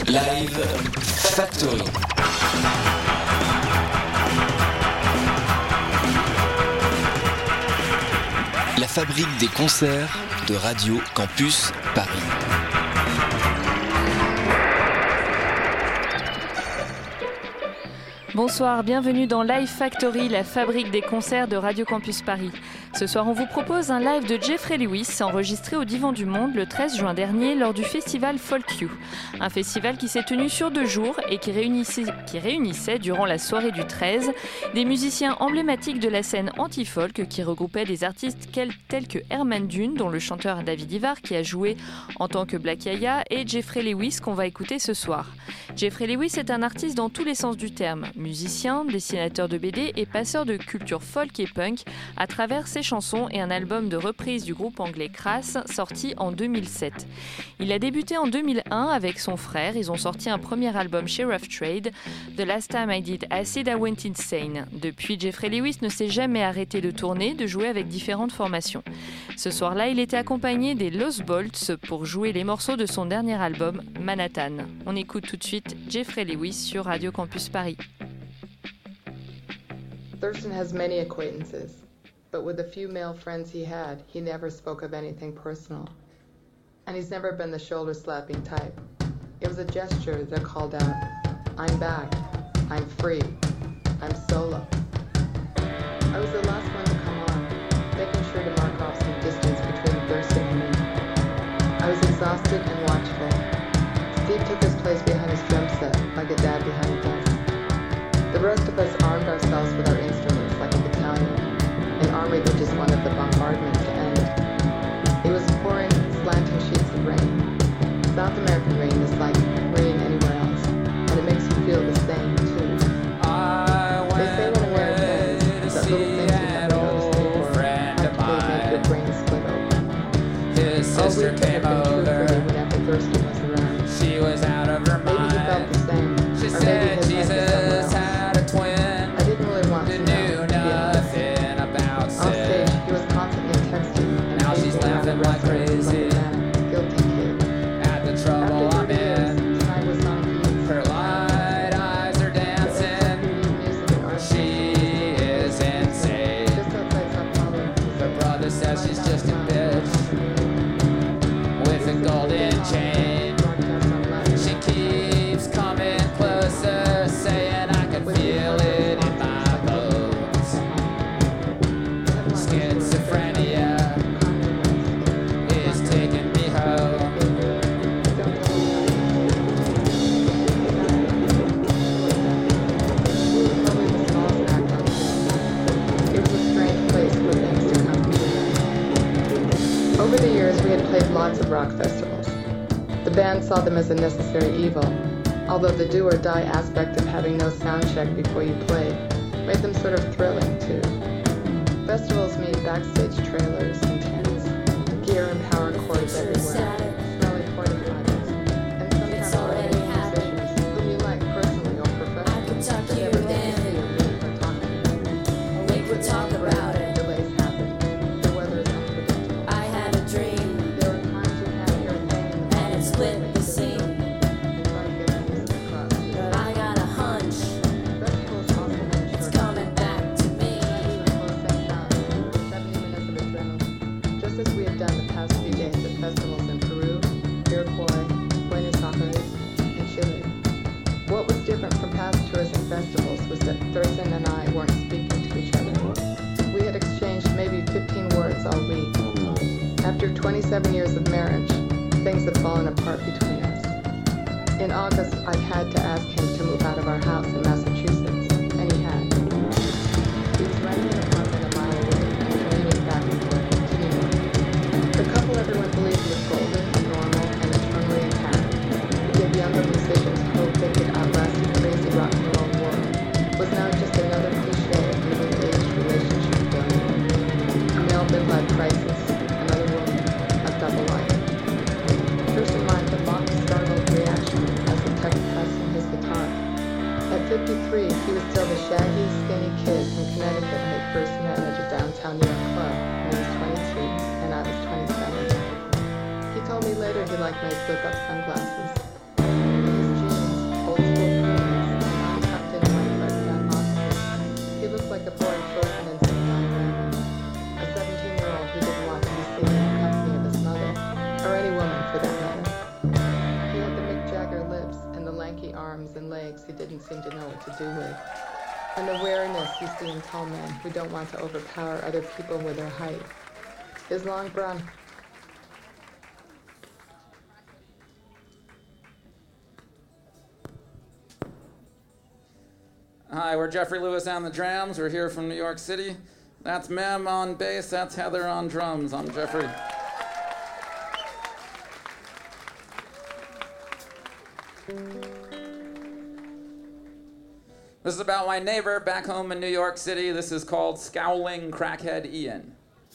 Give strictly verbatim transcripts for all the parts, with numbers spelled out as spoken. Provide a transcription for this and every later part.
Live Factory. La fabrique des concerts de Radio Campus Paris. Bonsoir, bienvenue dans Live Factory, la fabrique des concerts de Radio Campus Paris. Ce soir, on vous propose un live de Jeffrey Lewis enregistré au Divan du Monde le treize juin dernier lors du festival Folk You. Un festival qui s'est tenu sur deux jours et qui réunissait, qui réunissait durant la soirée du treize des musiciens emblématiques de la scène anti-folk qui regroupaient des artistes tels que Herman Dune, dont le chanteur David Ivar qui a joué en tant que Black Yaya, et Jeffrey Lewis qu'on va écouter ce soir. Jeffrey Lewis est un artiste dans tous les sens du terme. Musicien, dessinateur de B D et passeur de culture folk et punk à travers ses chansons et un album de reprise du groupe anglais Crass sorti en deux mille sept. Il a débuté en deux mille un avec son frère. Ils ont sorti un premier album chez Rough Trade, The Last Time I Did Acid I Went Insane. Depuis, Jeffrey Lewis ne s'est jamais arrêté de tourner, de jouer avec différentes formations. Ce soir-là, il était accompagné des Lost Bolts pour jouer les morceaux de son dernier album, Manhattan. On écoute tout de suite Jeffrey Lewis sur Radio Campus Paris. Thurston has many acquaintances, but with the few male friends he had, he never spoke of anything personal. And he's never been the shoulder-slapping type. It was a gesture that called out, I'm back, I'm free, I'm solo. I was the last one to come on, making sure to mark off some distance between Thurston and me. I was exhausted and watchful. Steve took his place behind his drum set, like a dad behind a desk. The rest of us armed ourselves with our instruments like a battalion, an army that just wanted the bombardment to end. It was pouring slanting sheets of rain. South American rain is like rain anywhere else, and it makes you feel the same too. They say when a man offends, that little things you never noticed before practically make your brain split open. His sister came over. Whenever Thurston was around, she was out of her mind. Maybe he felt the same. She or said maybe his head was Jesus somewhere else. had a twin. I didn't really want Who to know, knew to be honest. nothing about On sin. stage, he was constantly texting and Now she's pacing around laughing the like restaurant crazy. like a manic, guilty kid. At the trouble After I'm thirty years, in. tonight was on keys. Her light eyes are dancing. Music and art. She is insane. Just outside Sao Paulo. Her brother says she's just a bitch with a golden chain. Broadcast on live. She keeps coming closer, saying I can feel it in my bones. Schizophrenia is taking me home. It was a strange place for things to come together. Over the years, we had played lots of rock festivals. The band saw them as a necessary evil, although the do or die aspect of having no sound check before you played made them sort of thrilling too. Festivals mean backstage trailers and tents, gear and power cords everywhere, smelly porta potties, and sometimes already musicians whom you like personally or professionally, but never get to see or meet or talk to. We could talk about it. Delays happen. The weather is unpredictable. I had a dream, There are times you have your pain and it split the scene. and try to get things across to you. But I got a hunch, Festivals also mean it's short coming back to me. seventy minutes of adrenaline. Just as we have done the past few days at festivals in Peru, Iroquois, Buenos Aires, and Chile. What was different from past tours and festivals was that Thurston and I weren't speaking to each other. We had exchanged maybe fifteen words all week. After twenty-seven years of marriage, things had fallen apart between us. In August, I had to ask him to move out of our house in Massachusetts, and he had. He was renting an apartment a mile away and commuting back and forth continually. The couple everyone believed was golden, normal, and eternally intact, to give younger musicians hope they could outlast the crazy rock and roll world, was now just another cliche of middle-aged relationship failure. A male midlife crisis, another woman, a double life. Thurston marked a mock startled reaction as he tucked pressing his guitar. At fifty-three, he was still the shaggy, skinny kid from Connecticut I had first met at a downtown New York club when he was twenty-two and I was twenty-seven. He told me later he liked my flip-up sunglasses. His and legs he didn't seem to know what to do with. An awareness you see in tall men who don't want to overpower other people with their height. His long brown... Hi, we're Jeffrey Lewis on the drums. We're here from New York City. That's Mem on bass. That's Heather on drums. I'm Jeffrey. This is about my neighbor back home in New York City. This is called Scowling Crackhead Ian.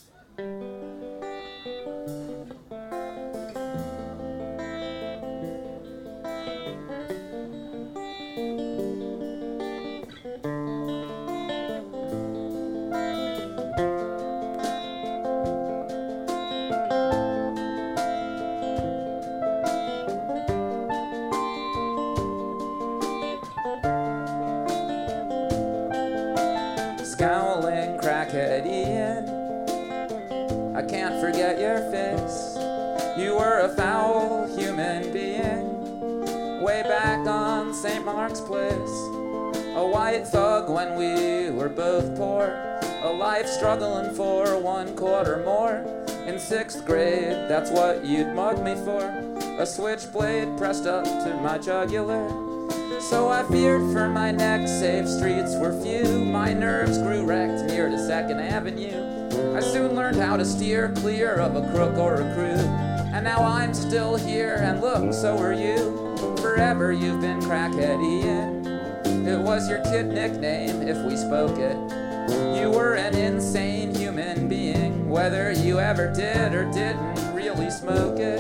Scowling crackhead Ian, I can't forget your face. You were a foul human being way back on Saint Mark's Place. A white thug when we were both poor, a life struggling for one quarter more. In sixth grade, that's what you'd mug me for, a switchblade pressed up to my jugular. So I feared for my neck, safe streets were few. My nerves grew wrecked near to second Avenue. I soon learned how to steer clear of a crook or a crew. And now I'm still here, and look, so are you. Forever you've been Crackhead Ian. It was your kid nickname if we spoke it. You were an insane human being, whether you ever did or didn't really smoke it.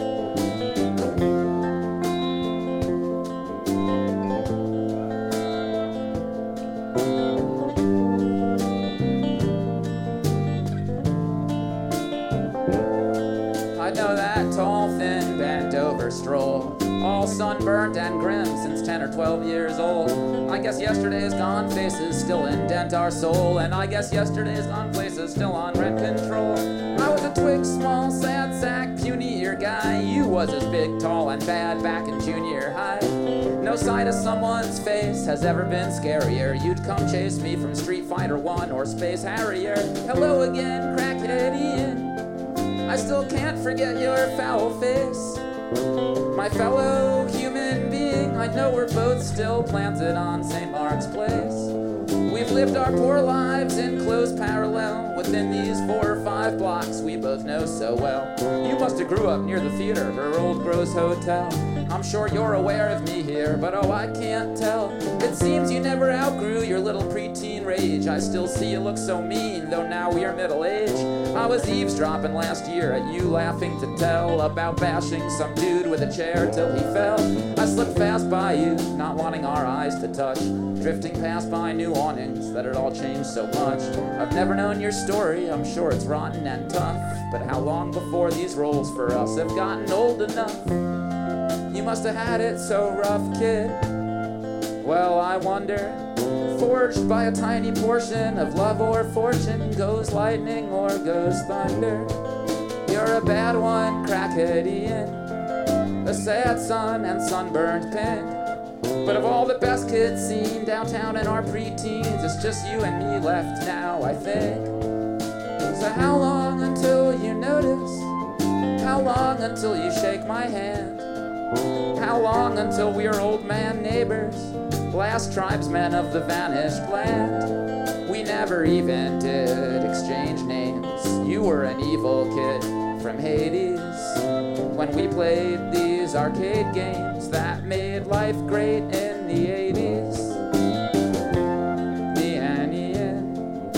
Stroll, all sunburned and grim since ten or twelve years old. I guess yesterday's gone faces still indent our soul, and I guess yesterday's gone places still on rent control. I was a twig, small, sad sack, puny ear guy. You was as big, tall, and bad back in junior high. No sight of someone's face has ever been scarier. You'd come chase me from Street Fighter one or Space Harrier. Hello again, Crackhead Ian. I still can't forget your foul face. My fellow human being, I know we're both still planted on Saint Mark's Place. We've lived our poor lives in close parallel within these four or five blocks we both know so well. You must have grew up near the theater or Old Gross Hotel. I'm sure you're aware of me here, but oh, I can't tell. It seems you never outgrew your little preteen rage. I still see you look so mean, though now we are middle-aged. I was eavesdropping last year at you laughing to tell about bashing some dude with a chair till he fell. I slipped fast by you, not wanting our eyes to touch, drifting past by new awnings that had all changed so much. I've never known your story, I'm sure it's rotten and tough, but how long before these roles for us have gotten old enough? You must have had it so rough, kid. Well, I wonder, forged by a tiny portion of love or fortune, goes lightning or goes thunder. You're a bad one, Crackhead Ian, a sad son and sunburned pink. But of all the best kids seen downtown in our preteens, it's just you and me left now, I think. So how long until you notice? How long until you shake my hand? How long until we're old man neighbors, last tribesmen of the vanished land? We never even did exchange names. You were an evil kid from Hades when we played these arcade games that made life great in the eighties. Me and Ian,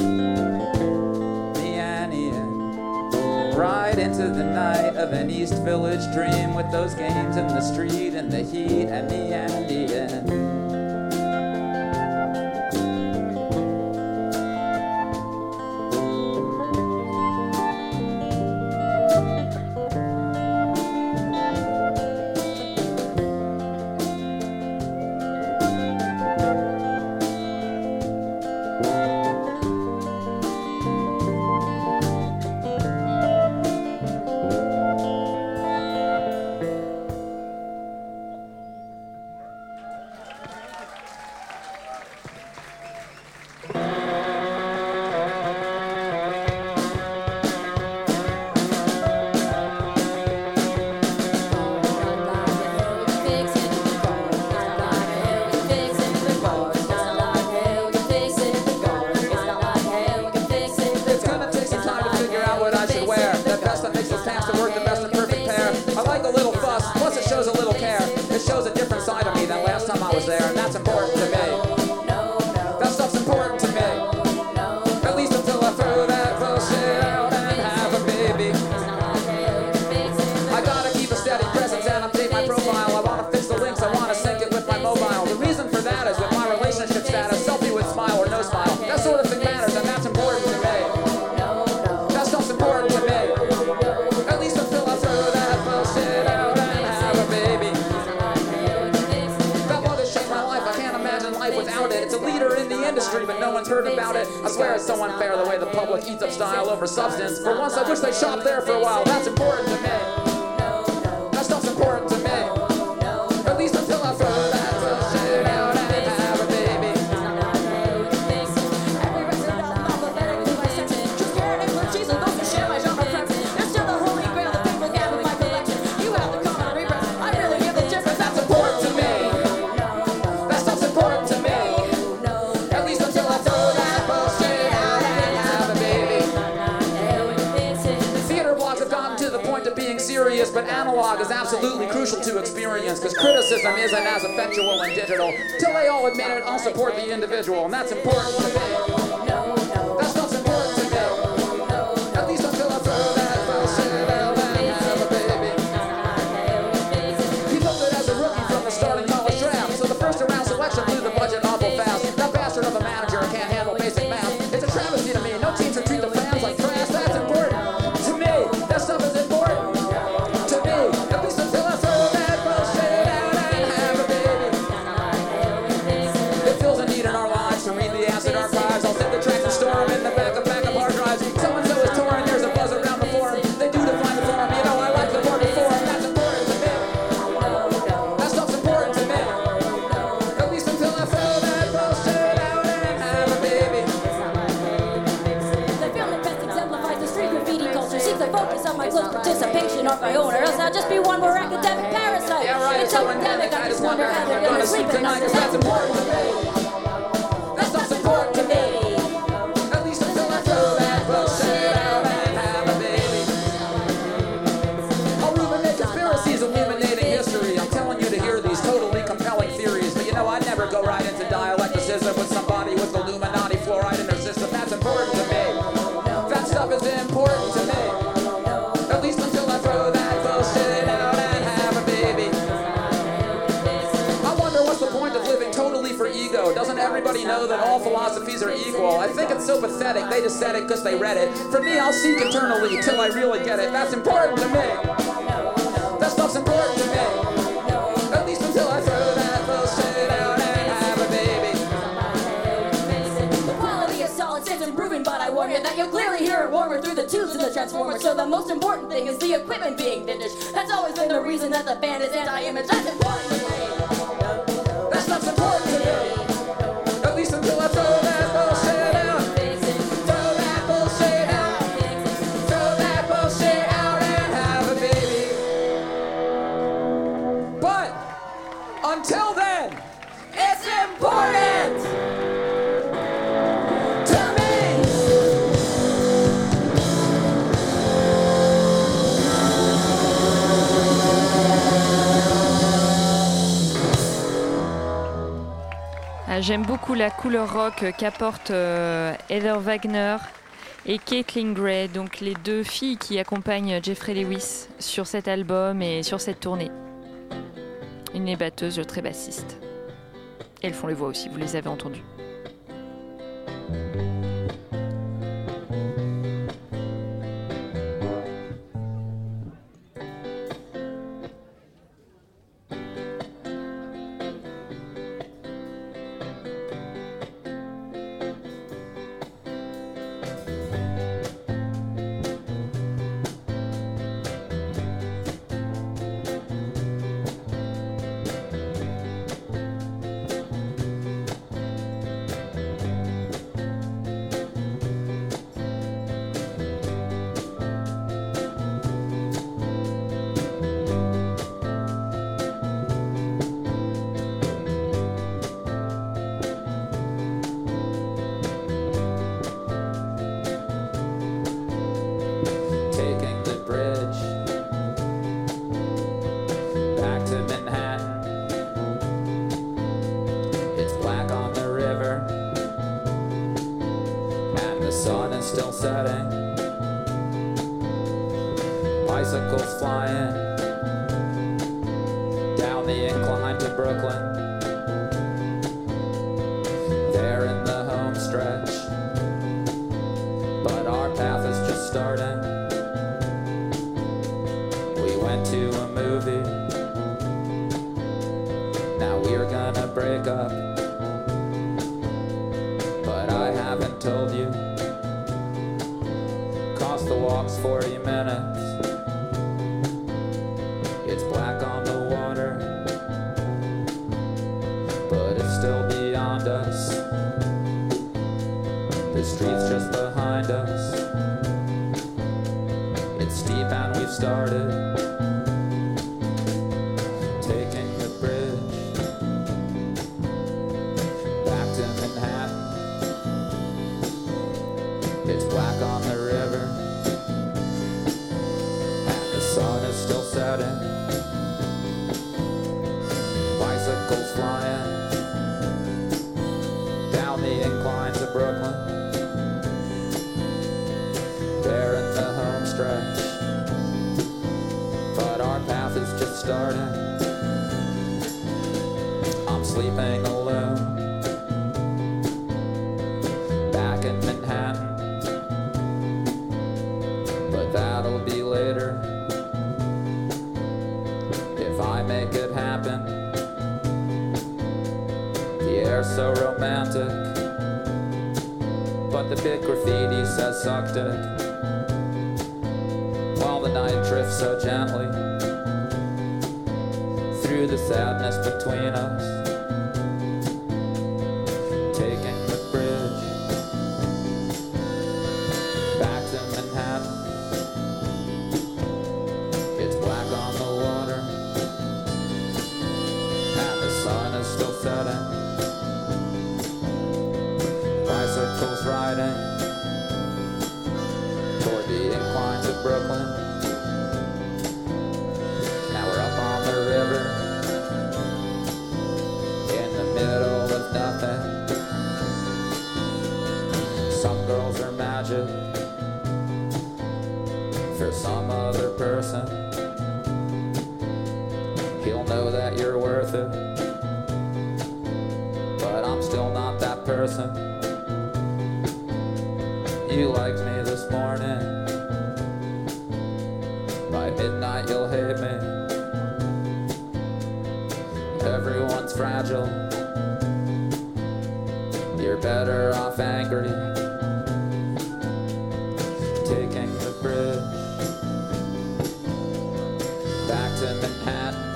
me and Ian, ride into the night of an East Village dream with those games in the street and the heat and me and Ian. a leader in the industry, but no one's heard about it. I swear it's so unfair the way the public eats up style over substance. For once, I wish they shopped there for a while. That's important to me. That stuff's important to me. At least until I throw that bullshit out and have a baby. Every resident of alphabetically licensed. Just carrot and blue cheese and those who share my genre preference. There's still the holy grail, the faithful gap in my collection. You have the common repress. I really give the difference. That's important to me. That stuff's important to me. At least until I throw that bullshit out and have a baby. Theater blogs have gotten to the point of being serious, but analog is absolutely crucial to experience, because criticism isn't as effectual in digital. Till they all admit it, I'll support the individual, and that's important to me. That stuff's important to me. At least until I throw that bullshit out and have a baby. He voted as a rookie from the starting college draft, so the first around selection blew the budget awful fast. That bastard of a manager can't handle basic math. It's a travesty to me. No team should treat the fans like trash. That's important to me. That stuff is important to me. At least until I throw that bullshit out and have a baby. It feels a need in our lives to read the acid archives. I'll send the tracks and store them in the back of backup hard drives. So-and-so is touring. There's a buzz around the forum. They do define the forum. You know I like the word forum. That's important to me. That stuff's important to me. At least until I throw that bullshit out and have a baby. The film that best exemplifies the street graffiti culture seems the focus of my close participation or my own, or else I'll just be one more academic parasite. Yeah, right. It's so endemic, I just wonder how they're I'm gonna gonna sleep sleep at night, tonight, 'cause that's important to me. That stuff's important to me. At least until I throw that bullshit out and have a baby. I'll illuminate conspiracies, illuminating history. I'm telling you to hear these totally compelling theories, but you know I'd never go right into dialecticism with somebody with Illuminati fluoride in their system. That's important to me. That stuff is important to me. At least until I throw that bullshit out and have a baby. I wonder what's the point of living totally for ego. Doesn't everybody know that all philosophies are equal? I think it's so pathetic. They just said it because they read it. For me, I'll seek eternally till I really get it. That's important to me. That stuff's important to me. At least until I throw that bullshit out and have a baby. The quality of solid stays improving, but I warn you that you'll clearly hear it warmer through the tubes of the transformer. So the most important thing is the equipment being vintage. That's always been the reason that the band is anti-image. That's important to me. That stuff's important to me. At least until I throw that bullshit out. Throw that bullshit out. Throw that bullshit out and have a baby. But until then, it's important to me. Ah, j'aime beaucoup la couleur rock qu'apportent euh, Heather Wagner et Caitlin Gray, donc les deux filles qui accompagnent Jeffrey Lewis sur cet album et sur cette tournée. Une est batteuse, l'autre est bassiste. Et elles font les voix aussi, vous les avez entendues. still setting, bicycles flying down the incline to Brooklyn. There in the home stretch, but our path is just starting. We went to a movie, now we're gonna break up. told you. Cost the walks forty minutes. It's black on the water, but it's still beyond us. The street's just behind us. It's steep and we've started taking the bridge back to Manhattan. It's black on the river and the sun is still setting. Bicycles flying down the inclines of Brooklyn. There in the home stretch, but our path is just starting. I'm sleeping alone back in Manhattan, but that'll be later if I make it happen. The air's so romantic, but the big graffiti says suck dick. While the night drifts so gently through the sadness between us, taking the bridge back to Manhattan. It's black on the water and the sun is still setting. Bicycles riding toward the inclines of Brooklyn. Now we're up on the river in the middle of nothing. Some girls are magic for some other person. He'll know that you're worth it, but I'm still not that person. You liked me this morning. By midnight you'll hate me. Everyone's fragile. You're better off angry. Taking the bridge back to Manhattan.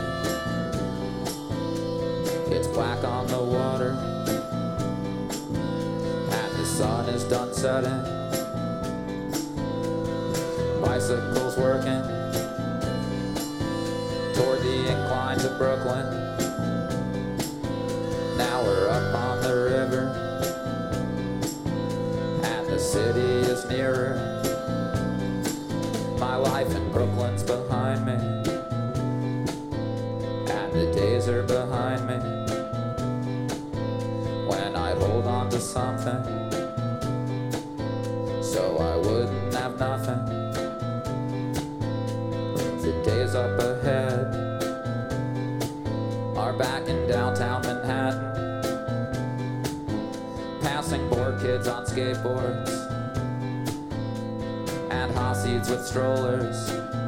It's black on the water and the sun is done setting. Bicycles working toward the inclines of Brooklyn. Now we're up on the river and the city is nearer. My life in Brooklyn's behind me and the days are behind me. When I'd hold on to something so I wouldn't have nothing. The days up ahead are back in downtown Manhattan, passing bored kids on skateboards and Hasids with strollers,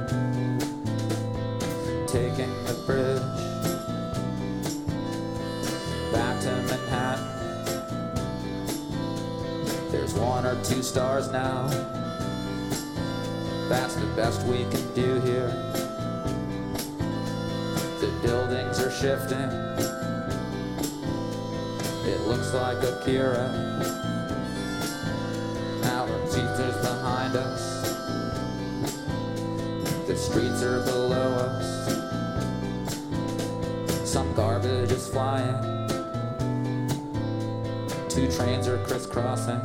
taking the bridge back to Manhattan. There's one or two stars now. That's the best we can do here. The buildings are shifting. It looks like Akira. Our future's behind us. The streets are below us. Some garbage is flying. Two trains are crisscrossing.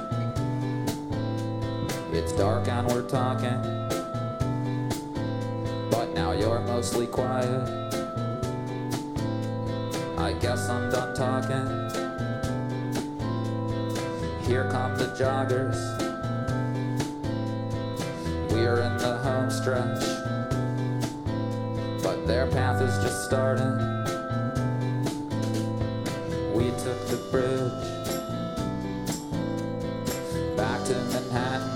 It's dark and we're talking, but now you're mostly quiet. I guess I'm done talking. Here come the joggers. We're in the home stretch, but their path is just starting. We took the bridge back to Manhattan.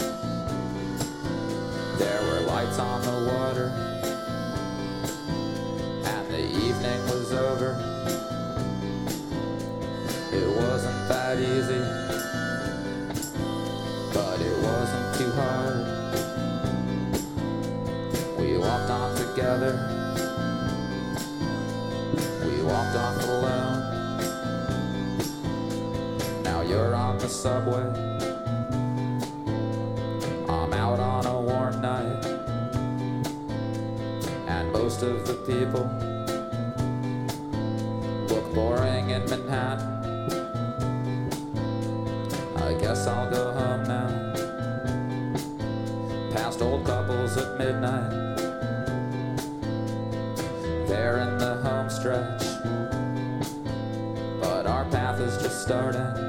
There were lights on the water and the evening was over. It wasn't that easy hard. We walked on together. We walked off alone. Now you're on the subway. I'm out on a warm night. And most of the people look boring in Manhattan. I guess I'll go home now. Past old couples at midnight. They're in the home stretch. But our path is just starting.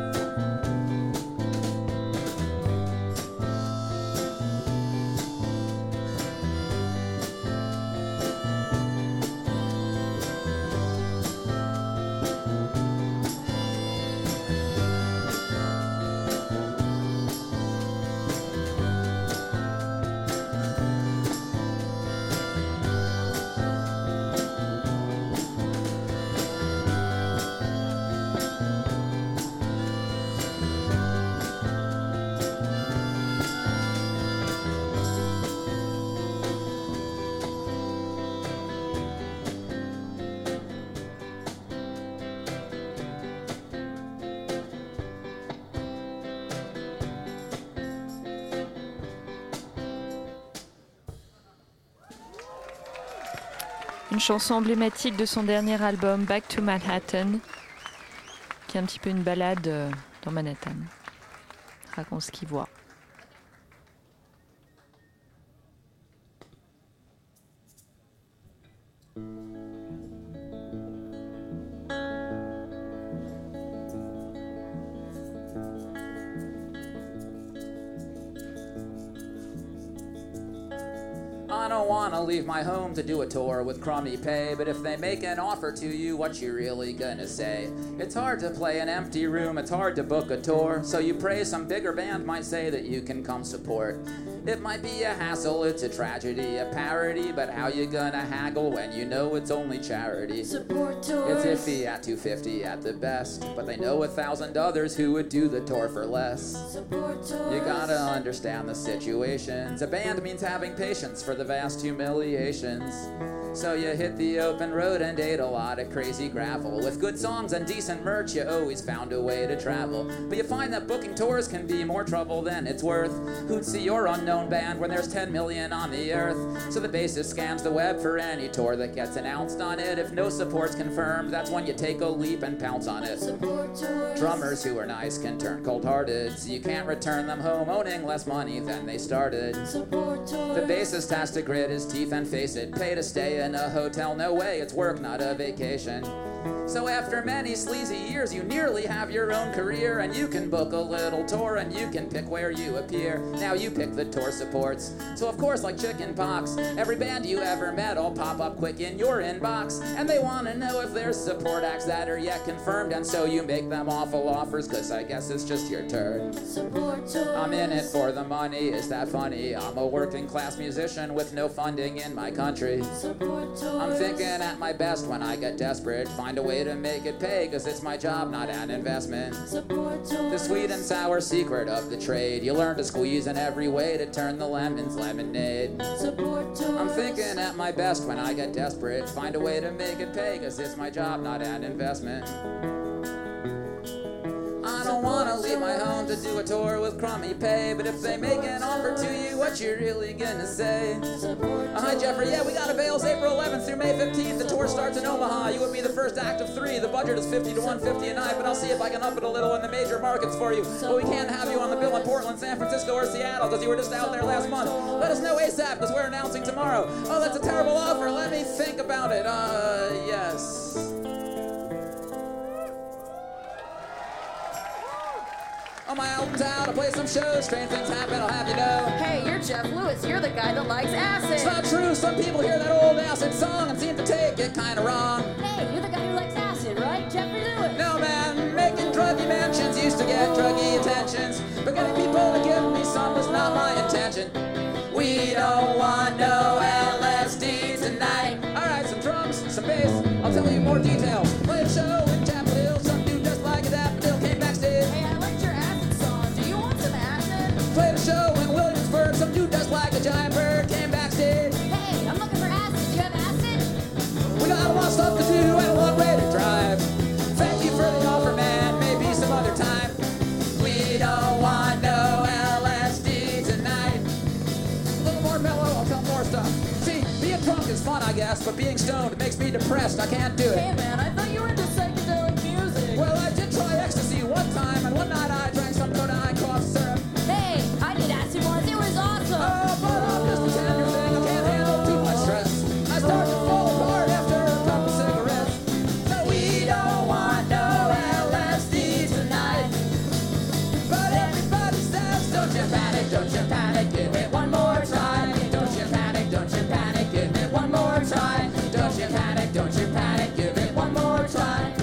Une chanson emblématique de son dernier album, Back to Manhattan, qui est un petit peu une balade dans Manhattan. Raconte ce qu'il voit. I don't wanna leave my home to do a tour with crummy pay, but if they make an offer to you, what you really gonna say? It's hard to play an empty room, it's hard to book a tour, so you pray some bigger band might say that you can come support. It might be a hassle, it's a tragedy, a parody, but how you gonna haggle when you know it's only charity? Support tours. It's iffy at two fifty at the best, but they know a thousand others who would do the tour for less. Support tours. You gotta understand the situations. A band means having patience for the vast humiliations. So you hit the open road and ate a lot of crazy gravel. With good songs and decent merch, you always found a way to travel. But you find that booking tours can be more trouble than it's worth. Who'd see your unknown band when there's ten million on the earth? So the bassist scans the web for any tour that gets announced on it. If no support's confirmed, that's when you take a leap and pounce on it. Support tours. Drummers who are nice can turn cold-hearted, so you can't return them home owning less money than they started. Support tours. The bassist has to grit his teeth and face it. Pay to stay in a hotel, no way, it's work, not a vacation. So after many sleazy years, you nearly have your own career, and you can book a little tour, and you can pick where you appear. Now you pick the tour supports. So of course, like chicken pox, every band you ever met will pop up quick in your inbox, and they want to know if there's support acts that are yet confirmed, and so you make them awful offers, cause I guess it's just your turn. Support tours. I'm in it for the money, is that funny? I'm a working class musician with no funding in my country. Support tours. I'm thinking at my best when I get desperate, find a way to make it pay, cause it's my job, not an investment. Support tours. The sweet and sour secret of the trade, you learn to squeeze in every way to turn the lemons lemonade. Support tours. I'm thinking at my best when I get desperate, find a way to make it pay, cause it's my job, not an investment. I don't wanna leave my home to do a tour with crummy pay, but if they make an offer to you, what you really gonna say? Support Uh, hi Jeffrey, yeah, we got avails April eleventh through May fifteenth. The tour starts in Omaha. You would be the first act of three. The budget is fifty to one fifty a night, but I'll see if I can up it a little in the major markets for you. But we can't have you on the bill in Portland, San Francisco, or Seattle, because you were just out there last month. Let us know ASAP, because we're announcing tomorrow. Oh, that's a terrible offer. Let me think about it. Uh, yes. On my album's out, I'll play some shows. Strange things happen, I'll have you know. Hey, you're Jeff Lewis. You're the guy that likes acid. It's not true, some people hear that old acid song and seem to take it kinda wrong. Hey, you're the guy who likes acid, right? Jeffrey Lewis. No man, making druggy mansions used to get druggy attentions, but getting people to give me some was not my intention. We don't want no L S D tonight. Alright, some drums, some bass, I'll tell you more details. Play a show in Chapel Hill, some dude just like a daffodil came backstage. Hey, I liked your acid song. Do you want some acid? Played a show in Williamsburg. best, but being stoned makes me depressed. I can't do it. Hey man, I thought you were into psychedelic music. Well, I did try ecstasy one time, and one night I drank some codeine cough syrup. Hey, I did acid once. It was awesome. Oh, but I'm just a tender thing. I can't handle too much stress. I start to fall apart after a couple cigarettes. So we don't want no L S D tonight. But everybody says, don't you panic, don't you panic, give it one more try. Don't you panic, don't you panic, give it one more try. Don't you panic, don't you panic, give it one more try.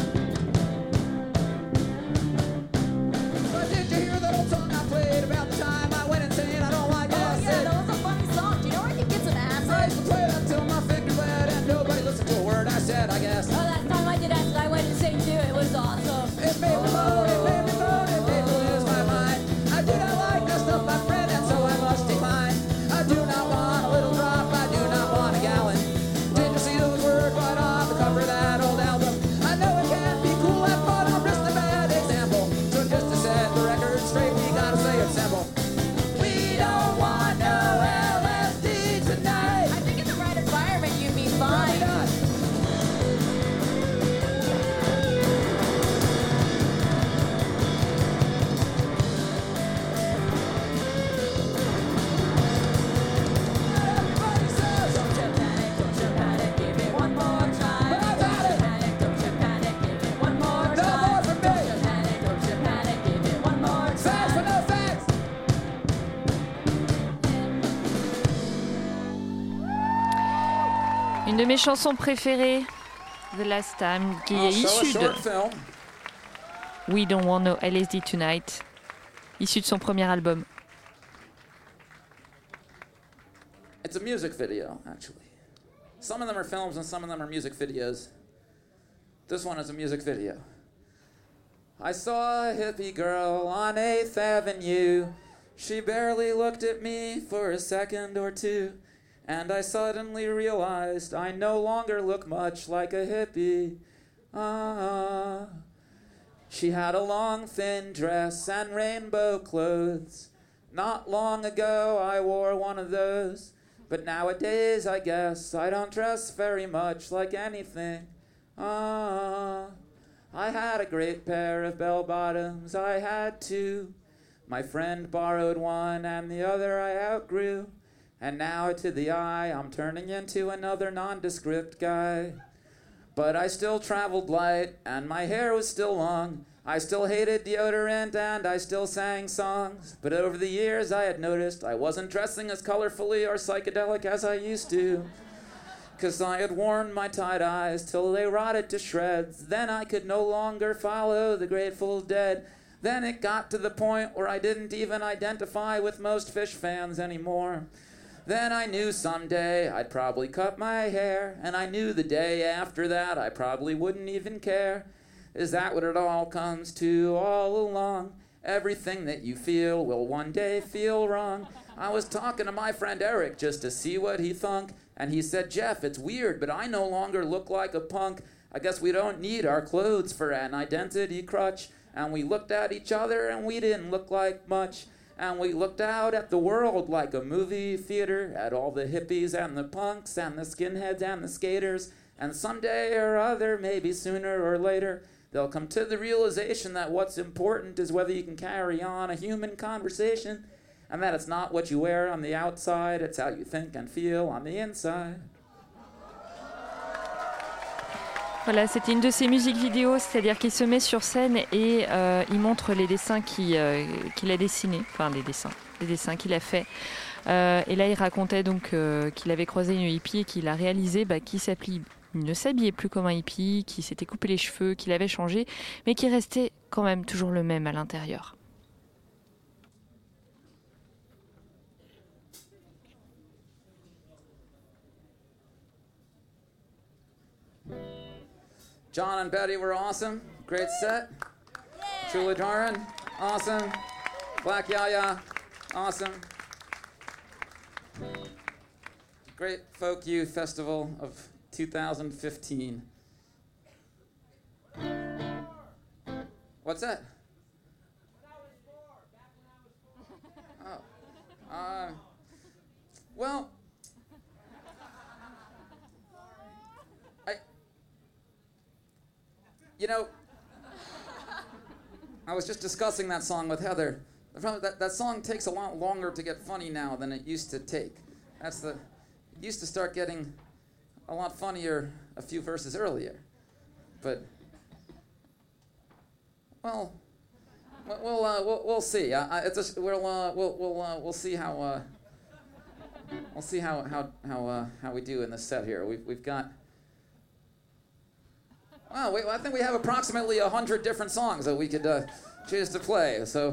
But did you hear that old song I played about the time I went insane? I don't like Oh acid. yeah, that was a funny song. Do you know where I can get some I used acid? to play it until my finger bled and nobody listened to a word I said, I guess. Oh, last time I did acid, I went insane too. It was awesome. It made me moan, it made me moan, it made me lose my mind. I do not like the stuff I've read, and so I must decline. I do not want a little drop, I do not want a gallon. Did you see those words right on the cover of that old album? I know it can't be cool, and but I'm just a bad example. So just to set the record straight, we gotta say it simple. We don't want no L S D tonight. I think in the right environment, you'd be Probably fine. not. Everybody says, Don't you panic, don't you panic, give it one more try. But I've had Don't you it. panic, don't you panic, give it one more No try. more from me. Don't you panic, don't you panic, give it one more facts for try. no facts. Une de mes chansons préférées, The Last Time, qui est I'll show a issue de short film. We Don't Want No L S D Tonight, issue de son premier album. It's a music video, actually. Some of them are films and some of them are music videos. This one is a music video. I saw a hippie girl on eighth Avenue. She barely looked at me for a second or two. And I suddenly realized I no longer look much like a hippie. Ah. She had a long, thin dress and rainbow clothes. Not long ago I wore one of those. But nowadays, I guess, I don't dress very much like anything. Ah, I had a great pair of bell-bottoms, I had two. My friend borrowed one and the other I outgrew. And now to the eye, I'm turning into another nondescript guy. But I still traveled light, and my hair was still long. I still hated deodorant, and I still sang songs. But over the years, I had noticed I wasn't dressing as colorfully or psychedelic as I used to. 'Cause I had worn my tie-dyes till they rotted to shreds. Then I could no longer follow the Grateful Dead. Then it got to the point where I didn't even identify with most Fish fans anymore. Then I knew someday I'd probably cut my hair, and I knew the day after that I probably wouldn't even care. Is that what it all comes to all along? Everything that you feel will one day feel wrong. I was talking to my friend Eric just to see what he thunk, and he said, Jeff, it's weird, but I no longer look like a punk. I guess we don't need our clothes for an identity crutch. And we looked at each other and we didn't look like much. And we looked out at the world like a movie theater, at all the hippies and the punks and the skinheads and the skaters. And someday or other, maybe sooner or later, they'll come to the realization that what's important is whether you can carry on a human conversation, and that it's not what you wear on the outside, it's how you think and feel on the inside. Voilà, c'était une de ses musiques vidéo, c'est-à-dire qu'il se met sur scène et euh, il montre les dessins qu'il, euh, qu'il a dessinés, enfin les dessins, les dessins qu'il a faits. Euh, et là, il racontait donc euh, qu'il avait croisé une hippie et qu'il a réalisé bah, qu'il s'habillait, il ne s'habillait plus comme un hippie, qu'il s'était coupé les cheveux, qu'il avait changé, mais qu'il restait quand même toujours le même à l'intérieur. John and Betty were awesome. Great set. Truly Doran, awesome. Black Yaya, awesome. Great Folk Youth Festival of two thousand fifteen. What's that? Oh. Uh, well, You know, I was just discussing that song with Heather. That, that song takes a lot longer to get funny now than it used to take. That's the, it used to start getting a lot funnier a few verses earlier. But, well, we'll uh, we'll, we'll see. Uh, it's a, we'll uh, we'll we'll uh, we'll see how uh, we'll see how how how uh, how we do in this set here. We've we've got. Wow, we, I think we have approximately a hundred different songs that we could uh, choose to play. So.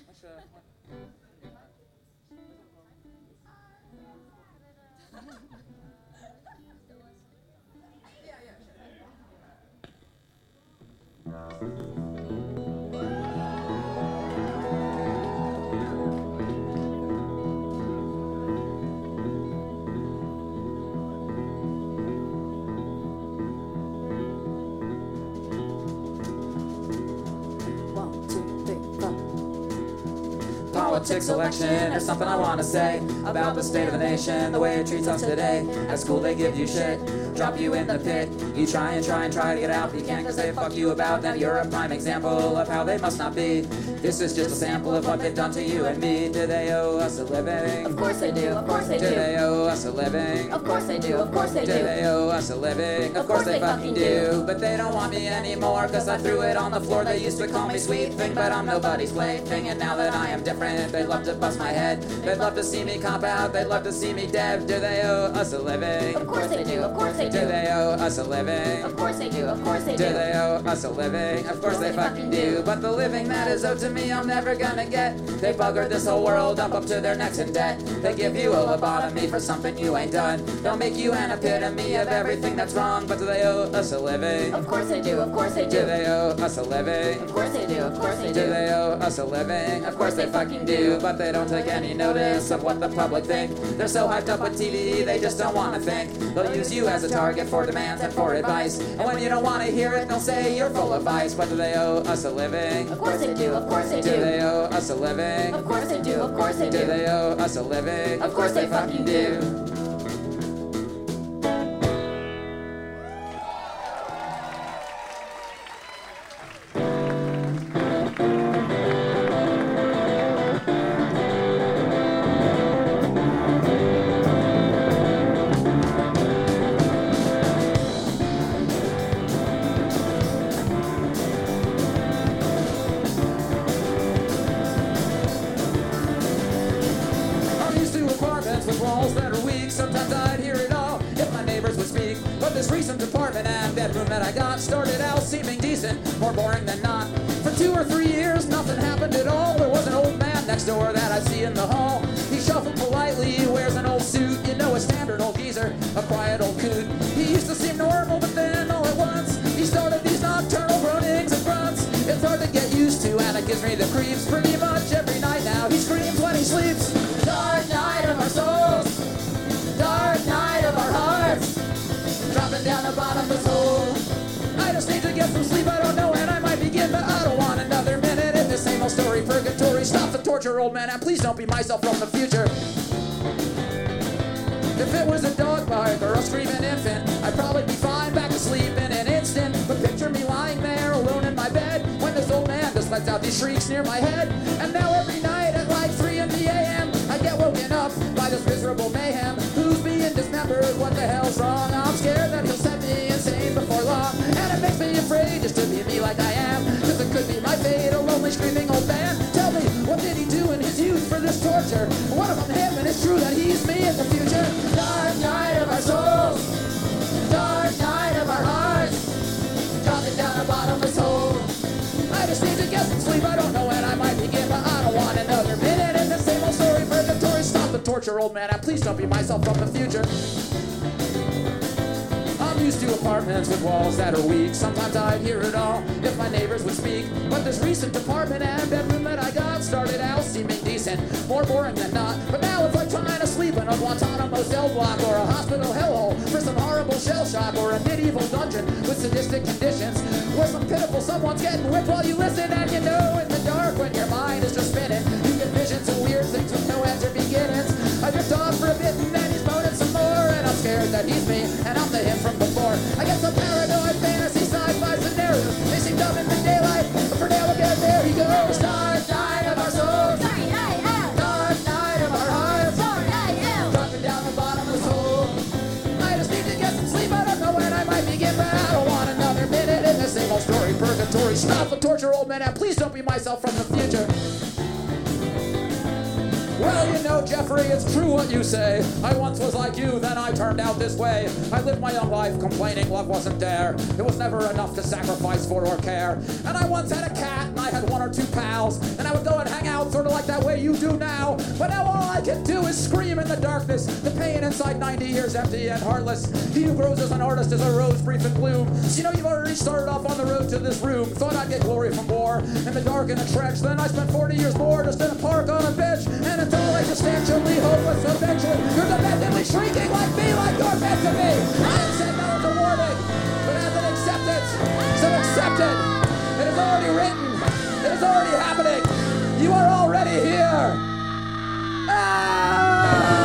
Politics, election, there's something I want to say about the state of the nation, the way it treats us today. At school they give you shit, drop you in the pit. You try and try and try to get out, but you can't cause they fuck you about. Then you're a prime example of how they must not be. This is just a sample of what they've done to you and me. Do they owe us a living? Of course they do, of course they do. Do they owe us a living? Of course they do, of course they do. Do they owe us a living? Of course they fucking do. But they don't want me anymore, cause I threw it on the floor. They used to call me sweet thing, but I'm nobody's plaything. And now that I am different, they'd love to bust my head. They'd love to see me cop out, they'd love to see me dead. Do they owe us a living? Of course they do, of course they do. Do they owe us a living? Of course they do, of course they do. Do they owe us a living? Of course they fucking do. But the living that is owed to me I'm never gonna get. They buggered this whole world up up to their necks in debt. They give you a lobotomy for something you ain't done. They'll make you an epitome of everything that's wrong. But do they owe us a living? Of course they do, of course they do. Do they owe us a living? Of course they do, of course they do. Do they owe us a living? Of course they fucking do. But they don't take any notice of what the public think. They're so hyped up with T V, they just don't want to think. They'll use you as a target for demands and for advice. And when you don't want to hear it, they'll say you're full of vice. But do they owe us a living? Of course they do, of course they do. Do they owe us a living? Of course they do, of course they do. Do they owe us a living? Of course they fucking do. Started out seeming decent, more boring than not. For two or three years, nothing happened at all. There was an old man next door that I see in the hall. He shuffled politely, he wears an old suit. You know, a standard old geezer, a quiet old coot. He used to seem normal, but then all at once, he started these nocturnal groanings and grunts. It's hard to get used to, and it gives me the creeps. Pretty much every night now, he screams when he sleeps. Dark night of our souls, dark night of our hearts, dropping down the bottomless hole. I just need to get some sleep, I don't know when I might begin, but I don't want another minute in this same old story. Purgatory, stop the torture, old man, and please don't be myself from the future. If it was a dog bark or a screaming infant, I'd probably be fine, back to sleep in an instant. But picture me lying there alone in my bed, when this old man just lets out these shrieks near my head. And now every night at like three in the a m, I get woken up by this miserable mayhem. Who's being dismembered? What the hell's wrong? I'm scared that he'll set me insane before long. And it makes me afraid just to be me like I am, cause it could be my fate, a lonely screaming old man. Tell me, what did he do in his youth for this torture? What if I'm him and it's true that he's me in the future? Dark night of our souls, dark night of our hearts, dropping down the bottomless hole. I just need to get some sleep, I don't know when I might begin, but I don't want another minute in the same old story. Purgatory, stop the torture, old man, and please don't be myself from the future. I'm used to apartments with walls that are weak. Sometimes I'd hear it all if my neighbors would speak. But this recent apartment and bedroom that I got started out seeming decent, more boring than not. But now it's like trying to sleep in a Guantanamo cell block, or a hospital hellhole for some horrible shell shock, or a medieval dungeon with sadistic conditions, where some pitiful someone's getting whipped while you listen. And you know in the dark when your mind is just spinning, you get visions of weird things with no ends or beginnings. I drift off for a bit and then he's moaning some more, and I'm scared that he's me and I'm the him from before. I get some paranoid fantasy sci-fi scenarios. fury. Stop the torture, old man, and please don't be myself from the future. Well, you know, Jeffrey, it's true what you say. I once was like you, then I turned out this way. I lived my young life complaining love wasn't there. It was never enough to sacrifice for or care. And I once had a cat, and I had one or two pals. And I would go and hang out sort of like that way you do now. But now all I can do is scream in the darkness. The pain inside ninety years empty and heartless. He who grows as an artist is a rose brief in bloom. So you know you've already started off on the road to this room. Thought I'd get glory from war in the dark and the trench. Then I spent forty years more just in a park on a bench. And until existentially hopeless, eventually you're demented shrieking like me, like you're meant to be. I didn't say that as a warning, but as an acceptance. So accept it. It is already written. It is already happening. You are already here. Ah!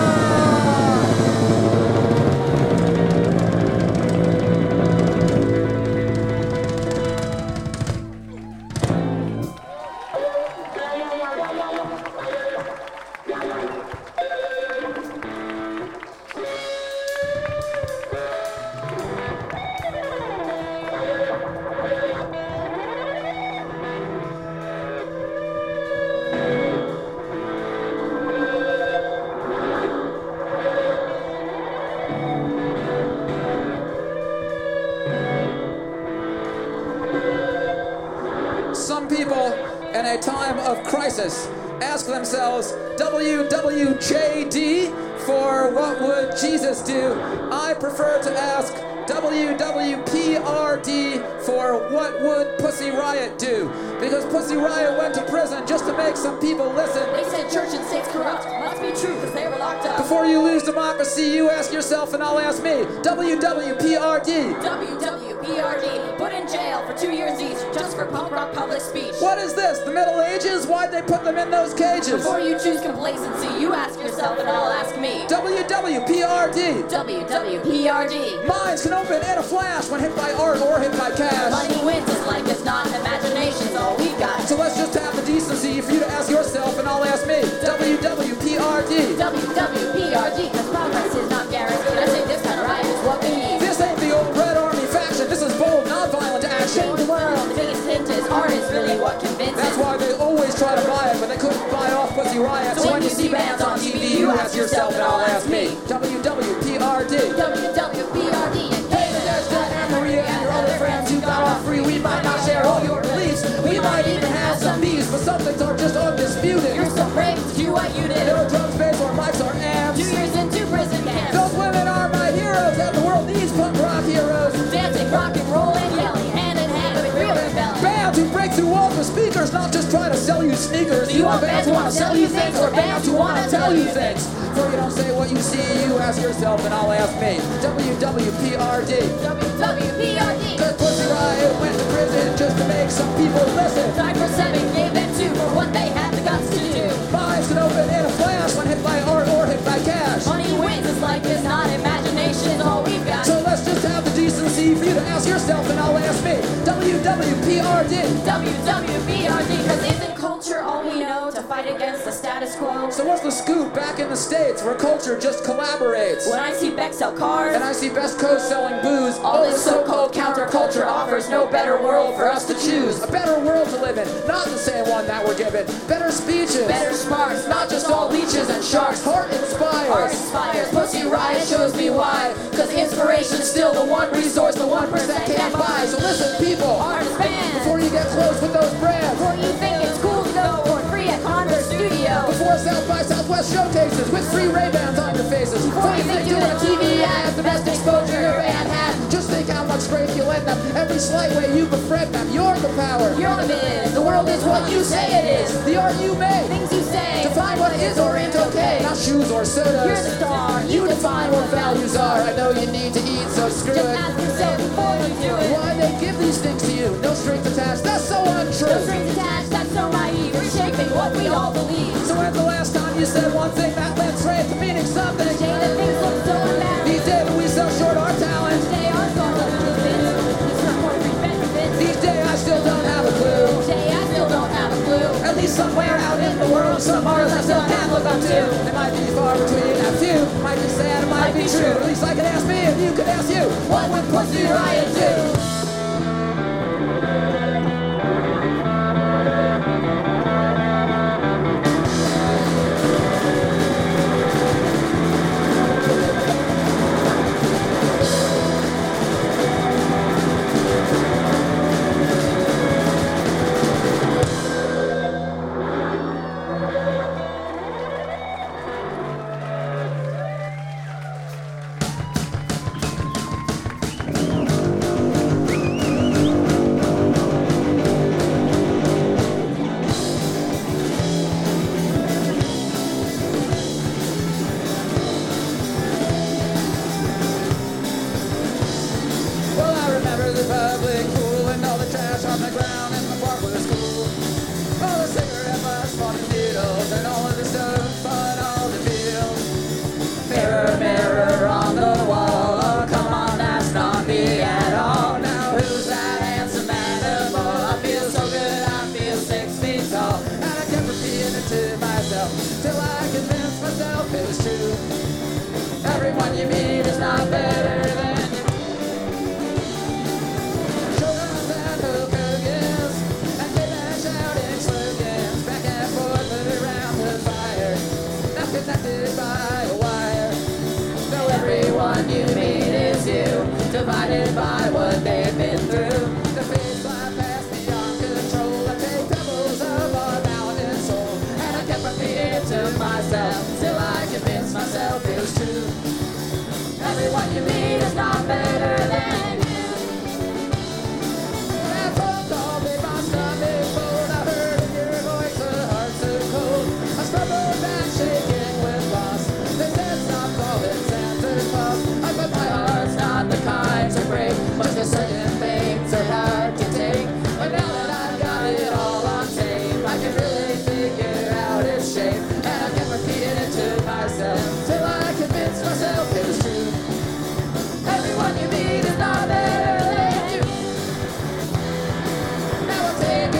In a time of crisis, ask themselves, W W J D for what would Jesus do? I prefer to ask W W P R D for what would Pussy Riot do? Because Pussy Riot went to prison just to make some people listen. They said church and state's corrupt. Must be true because they were locked up. Before you lose democracy, you ask yourself and I'll ask me. W W P R D. W W P R D. Put in jail for two years each just for punk rock public speech. What is this? The Middle Ages? Why'd they put them in those cages? Before you choose complacency, you ask yourself and I'll ask me. W W P R D. W W P R D. Minds can open in a flash when hit by art or hit by cash. Money wins is like it's not imagination's all we got. So let's just have the decency for you to ask yourself and I'll ask me. W W P R D. W W P R D, because progress is not guaranteed. I say this kind of riot is what we need. This ain't the old Red Army faction. This is bold, non-violent action. Change the world. The biggest hint is art is really what convinces. That's why they always try to buy it, but they couldn't buy off Pussy Riot. So when you see bands on T V, you ask yourself and I'll ask me. W W P R D. W W P R D. Hey, there's Doug and Maria and your other friends who got off free. We might not share all your beliefs. We might even have some beefs, but some things are just undisputed. You're so brave to do what you did. No drum space or mics or amps. Two years into prison camps. Those women are my heroes, and the world needs punk rock heroes. Dancing, rock and roll, and yelling, hand in hand with real rebellion. Bands who break through walls with speakers, not just try to sell you sneakers. Do you want bands who want to sell you things, or bands who want to tell you things? Before you don't say what you see, you ask yourself, and I'll ask me. W W P R D. W W P R D. Cause Pussy Riot went to prison just to make some people listen. Died for seven, gave them two for what they had the guts to do. Minds can open in a flash when hit by art or hit by cash. Money wins, it's like it's not imagination, is all we've got. So let's just have the decency for you to ask yourself, and I'll ask me. W W P R D. W W P R D, cause isn't culture all we know to fight against the status quo? So what's the scoop back in the States where culture just collaborates? When I see Beck sell cars, And I see Best Coast selling booze. all this so-called counterculture offers no better world for us to choose. A better world to live in, not the same one that we're given. Better speeches, Better smarts, not just all leeches and sharks. Heart inspires. Art inspires, Pussy Riot shows me why. Cause inspiration's still the one resource the one percent can't buy. So listen, people, Artist bands, before you get close with those brands, before you think it's cool to go for free at Converse Studio, before South by Southwest showcases with free Ray-Bans on your faces, before you think doing a T V ad is the best exposure your band had, just think how much strength you lend them. Every slight way you befriend them, you're the power. you're the biz. The world is what you say it is. The art you make, Things you say, define what is or ain't okay. Not shoes or sodas. you're the star. You define what values are. I know you need to eat, so screw Just it. ask yourself before you do it. Why they give these things to you? No strings attached. That's so untrue. No strings attached, that's so naive. We're shaping what we all believe. So when's the last time you said one thing that led straight to meaning something? Each day that things look so unbalanced. These days we sell short our talent. Each day our songs look benefits. These report free benefits. These days I still don't have a clue. Each day I still don't have a clue. At least somewhere out in the world, some artists I still can't look up to. It might be far between a few. Might be sad, it might be true. At least I could ask me and you could ask you. What would Pussy Riot do?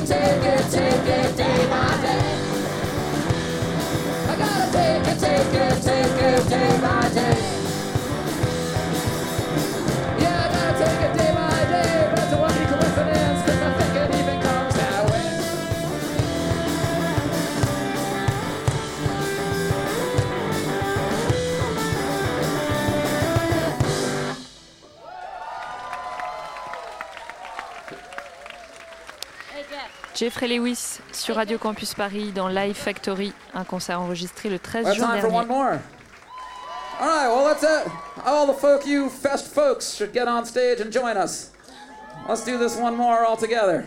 take it, take it day by day. I gotta take it, take it, take it day by day. Yeah, I gotta take it day by day. That's a lucky coincidence, cause I think it even comes that way. Jeffrey Lewis sur Radio Campus Paris dans Live Factory, un concert enregistré le treize Well, juin time for one dernier. more. All right, well, that's it. All the folk, you fest folks, should get on stage and join us. Let's do this one more all together.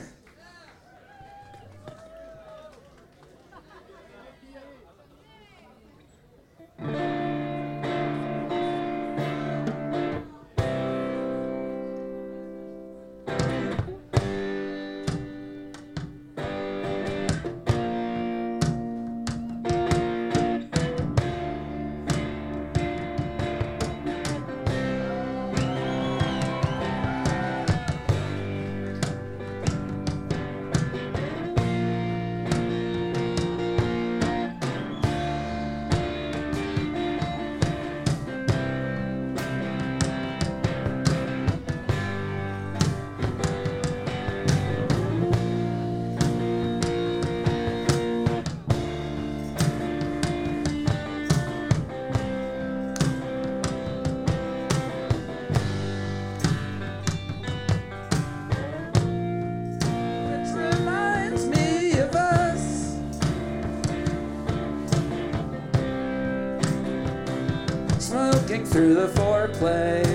Smoking through the foreplay.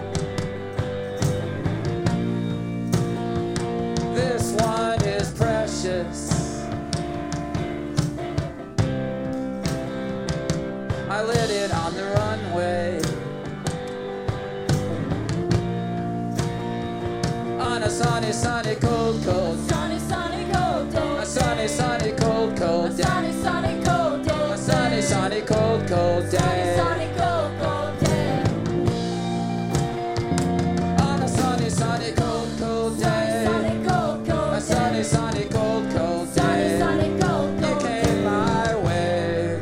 This one is precious. I lit it on the runway. On a sunny, sunny, cold, cold. Sunny, sunny, cold day. A sunny, sunny, cold, cold day. Sunny, sunny, cold day. A sunny, sunny, cold, cold day. Sunny, cold, cold day. On a sunny, sunny, cold, cold day. Sunny, cold, cold A sunny, sunny, cold, cold Sunny, day. sunny, cold, You cold came my way.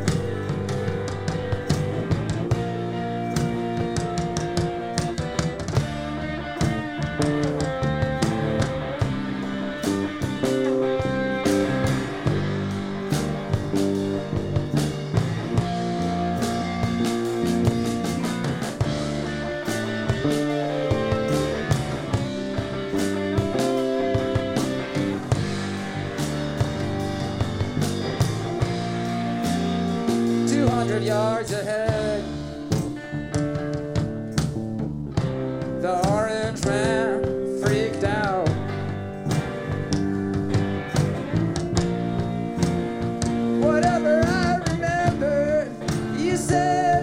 Two hundred yards ahead, the orange man freaked out. Whatever I remember, you said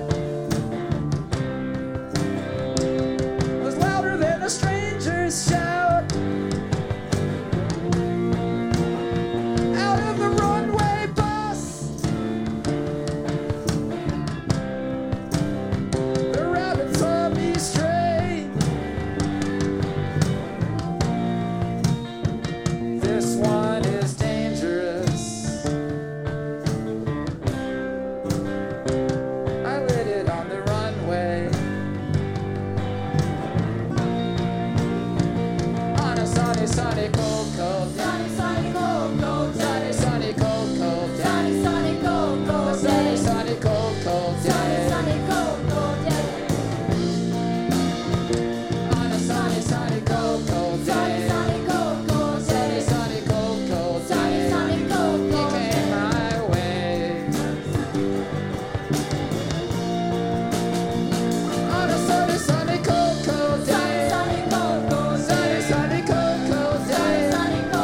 was louder than a stranger's shout. Out of the runway bus, the rabbit saw me stray. This one is dangerous. I lit it on the runway. On a sunny, sunny, cold, cold day. Sunny, sunny, cold, cold Sunny, day. sunny, cold, cold day. Sunny, sunny, cold, A cold sunny, day. sunny, cold, cold Sunny, day. sunny, cold, cold day. On a sunny, sunny, cold, cold Sunny, day. sunny, cold, cold Sunny, day. sunny, cold, cold Sunny, day. sunny, cold, You cold came day. my way. On a sunny, sunny, cold, cold Sunny, day. sunny, cold, cold Sunny, day. sunny, cold, cold Sunny, day. sunny, cold,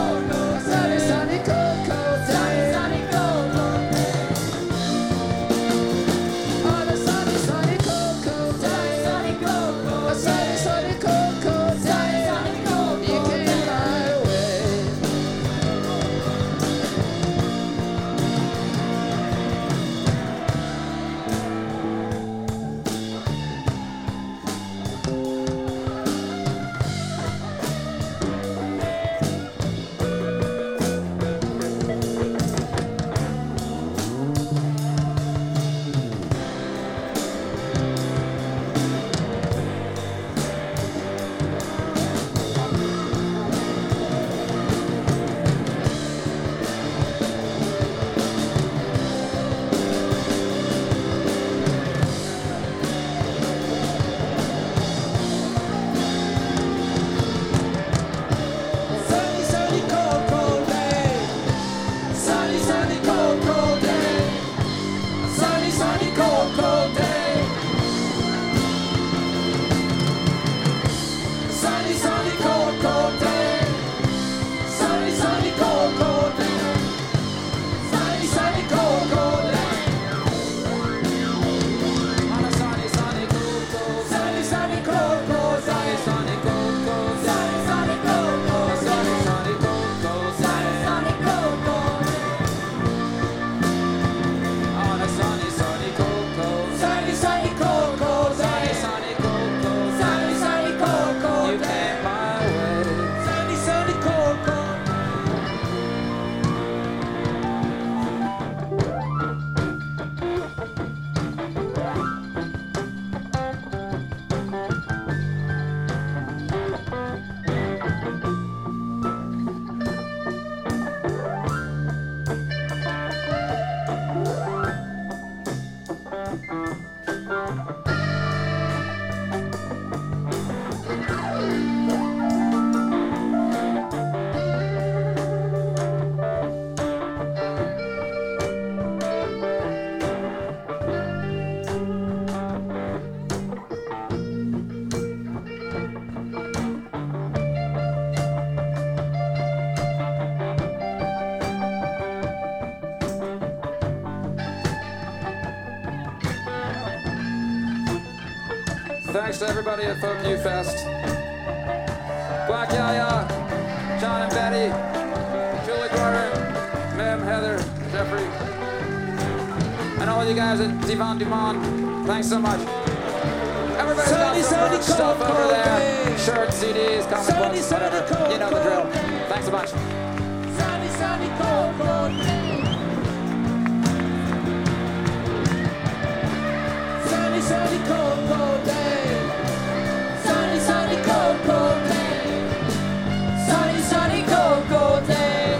Thanks to everybody at Folk U Fest. Black Yaya, John and Betty, Julie Gordon, Mim, Heather, Jeffrey, and all you guys at Divan du Monde. Thanks so much. Everybody's got some merch stuff over there. Shirts, C Ds, comic books, whatever. You know the drill. Thanks a bunch. Sunny, sunny, cold, cold day. Sunny, sunny, cold, cold day. Sunny, sunny, cold, cold day. Sunny, sunny, cold, cold day.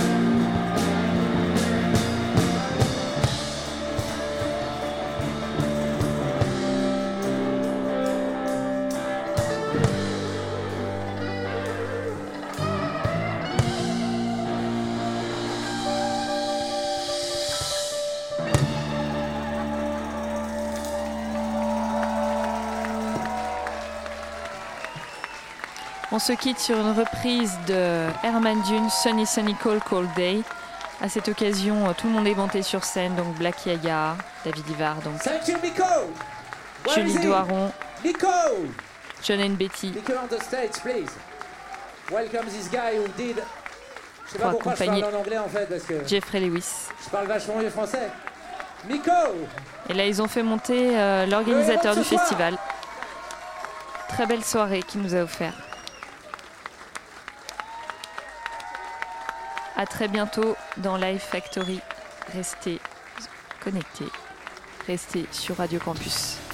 On se quitte sur une reprise de Herman Dune, Sunny Sunny Cold Cold Day. À cette occasion, tout le monde est monté sur scène, donc Black Yaya, David Ivar, donc Thank you, Nico. Where Julie is he? Doiron, Nico. John and Betty, Nico on the stage, please. Welcome this guy who did. Je sais Pour pas pourquoi je accompagner parle en anglais en fait parce que Jeffrey Lewis. je parle vachement mieux français. Nico. Et là, ils ont fait monter euh, l'organisateur Le héros de du ce soir. festival. Très belle soirée qu'il nous a offert. À très bientôt dans Live Factory. Restez connectés. Restez sur Radio Campus.